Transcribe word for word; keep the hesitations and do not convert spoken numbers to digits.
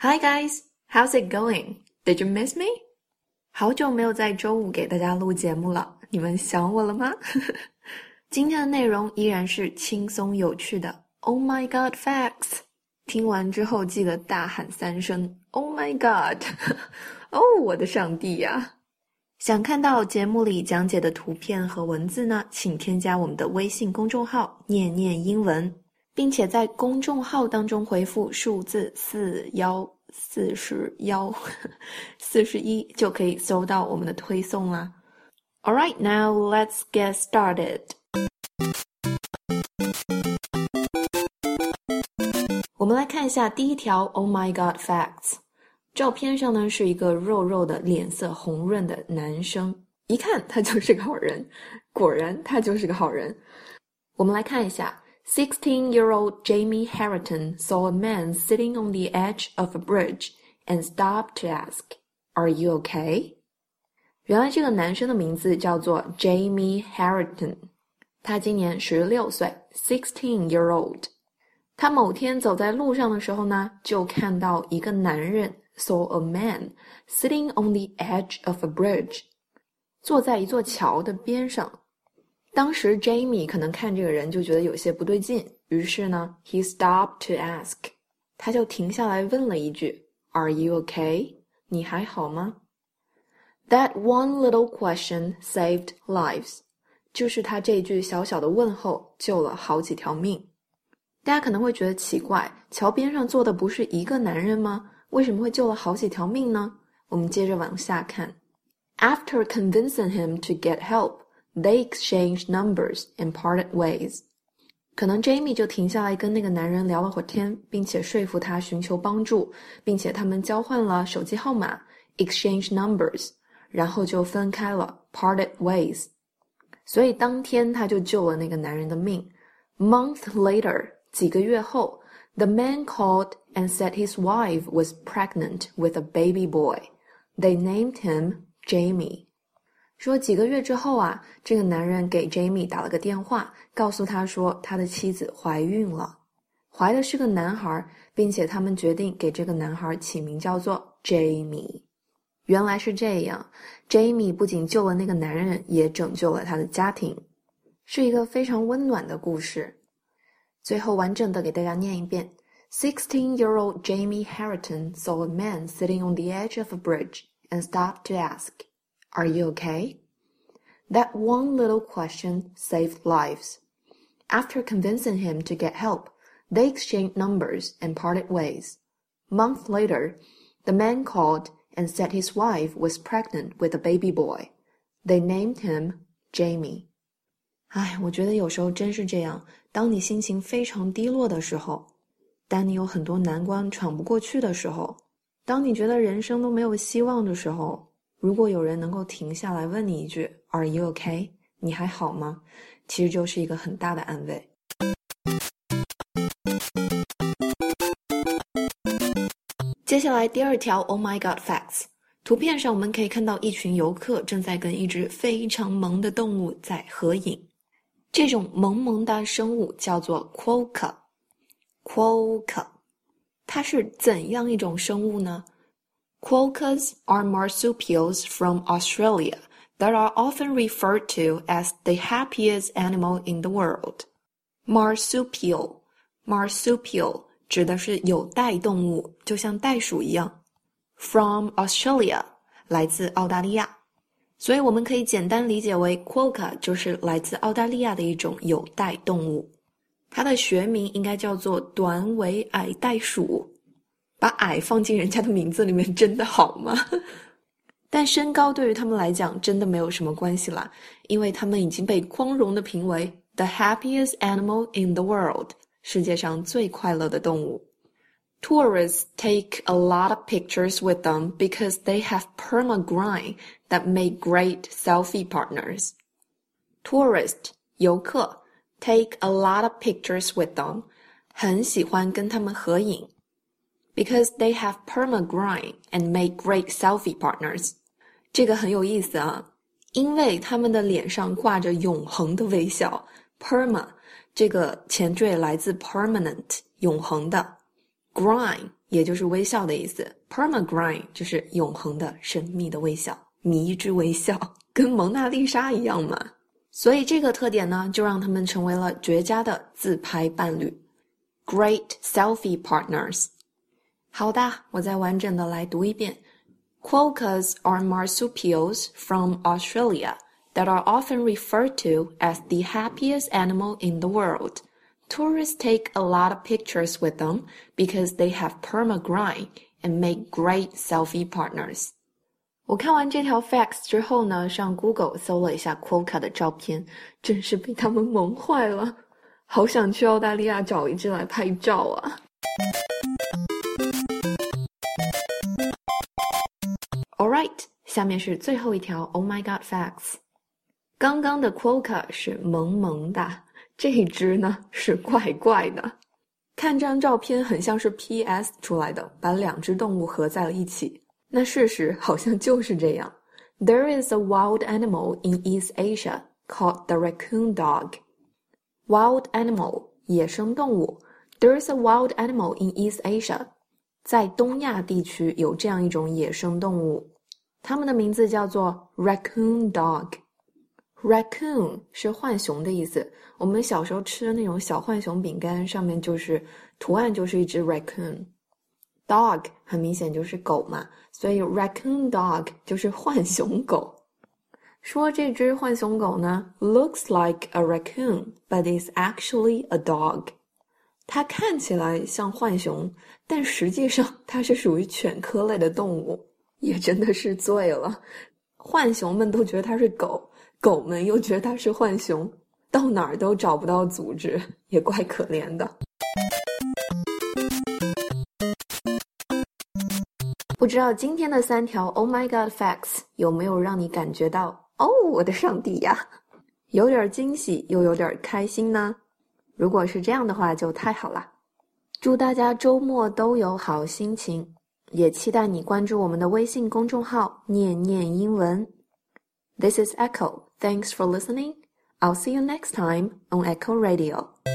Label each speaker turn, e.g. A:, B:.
A: Hi guys, how's it going? Did you miss me? 好久没有在周五给大家录节目了，你们想我了吗？今天的内容依然是轻松有趣的 Oh my god facts， 听完之后记得大喊三声 Oh my god 哦，我的上帝呀！想看到节目里讲解的图片和文字呢，请添加我们的微信公众号念念英文，并且在公众号当中回复数字四一四十一四十一就可以收到我们的推送啦。Alright, now let's get started. 我们来看一下第一条 Oh my god facts。照片上呢是一个肉肉的脸色红润的男生，一看他就是个好人，果然他就是个好人。我们来看一下sixteen-year-old Jamie Harrington saw a man sitting on the edge of a bridge and stopped to ask, Are you okay? 原来这个男生的名字叫做 Jamie Harrington， 他今年十六岁 sixteen-year-old。 他某天走在路上的时候呢，就看到一个男人 saw a man sitting on the edge of a bridge， 坐在一座桥的边上。当时 Jamie 可能看这个人就觉得有些不对劲，于是呢 he stopped to ask， 他就停下来问了一句 Are you okay? 你还好吗？ That one little question saved lives， 就是他这句小小的问候救了好几条命。大家可能会觉得奇怪，桥边上坐的不是一个男人吗？为什么会救了好几条命呢？我们接着往下看。 After convincing him to get help,They exchanged numbers and parted ways. 可能 Jamie 就停下来跟那个男人聊了会儿天，并且说服他寻求帮助，并且他们交换了手机号码 exchange numbers， 然后就分开了 parted ways。 所以当天他就救了那个男人的命。 Month later， 几个月后， The man called and said his wife was pregnant with a baby boy. They named him Jamie。说几个月之后啊，这个男人给 Jamie 打了个电话，告诉他说他的妻子怀孕了，怀的是个男孩，并且他们决定给这个男孩起名叫做 Jamie。 原来是这样， Jamie 不仅救了那个男人，也拯救了他的家庭，是一个非常温暖的故事。最后完整的给大家念一遍。 sixteen-year-old Jamie Harrington saw a man sitting on the edge of a bridge and stopped to ask,Are you okay? That one little question saved lives. After convincing him to get help, they exchanged numbers and parted ways. Month later, the man called and said his wife was pregnant with a baby boy. They named him Jamie. 唉，我觉得有时候真是这样，当你心情非常低落的时候，当你有很多难关喘不过去的时候，当你觉得人生都没有希望的时候，如果有人能够停下来问你一句 Are you okay? 你还好吗？其实就是一个很大的安慰。接下来第二条 Oh my god facts。 图片上我们可以看到一群游客正在跟一只非常萌的动物在合影。这种萌萌的生物叫做 Quokka。 Quokka 它是怎样一种生物呢？Quokkas are marsupials from Australia that are often referred to as the happiest animal in the world. Marsupial, marsupial 指的是有袋动物，就像袋鼠一样。From Australia 来自澳大利亚，所以我们可以简单理解为 Quokka 就是来自澳大利亚的一种有袋动物。它的学名应该叫做短尾矮袋鼠。把矮放进人家的名字里面真的好吗？但身高对于他们来讲真的没有什么关系啦，因为他们已经被光荣地评为 the happiest animal in the world， 世界上最快乐的动物。Tourists take a lot of pictures with them because they have perma-grind that make great selfie partners. Tourist 游客 take a lot of pictures with them 很喜欢跟他们合影Because they have perma-grind and make great selfie partners. 这个很有意思啊，因为他们的脸上挂着永恒的微笑。Perma 这个前缀来自 permanent 永恒的 Grime 也就是微笑的意思， Permagrime 就是永恒的神秘的微笑，迷之微笑，跟蒙娜丽莎一样嘛。所以这个特点呢，就让他们成为了绝佳的自拍伴侣， Great selfie partners。 好的，我再完整的来读一遍。 Quokkas are marsupials from Australia that are often referred to as the happiest animal in the world. Tourists take a lot of pictures with them because they have perma-grime and make great selfie partners. 我看完这条 facts 之后呢，上 Google 搜了一下 Quokka 的照片，真是被他们萌坏了，好想去澳大利亚找一只来拍照啊。Alright， 下面是最后一条 Oh my god facts。 刚刚的 Quokka 是萌萌的，这一只呢是怪怪的。看这张照片很像是 P S 出来的，把两只动物合在了一起。那事实好像就是这样。 There is a wild animal in East Asia called the raccoon dog. Wild animal 野生动物。 There is a wild animal in East Asia. 在东亚地区有这样一种野生动物，它们的名字叫做 raccoon dog。 Raccoon 是浣熊的意思，我们小时候吃的那种小浣熊饼干上面就是图案就是一只 raccoon。 Dog 很明显就是狗嘛，所以 raccoon dog 就是浣熊狗。说这只浣熊狗呢 looks like a raccoon but is actually a dog。 它看起来像浣熊，但实际上它是属于犬科类的动物，也真的是醉了。浣熊们都觉得它是狗，狗们又觉得它是浣熊，到哪儿都找不到组织，也怪可怜的。不知道今天的三条 Oh my god facts 有没有让你感觉到哦，我的上帝呀，有点惊喜又有点开心呢？如果是这样的话就太好了。祝大家周末都有好心情，也期待你关注我们的微信公众号念念英文。 This is Echo. Thanks for listening. I'll see you next time on Echo Radio.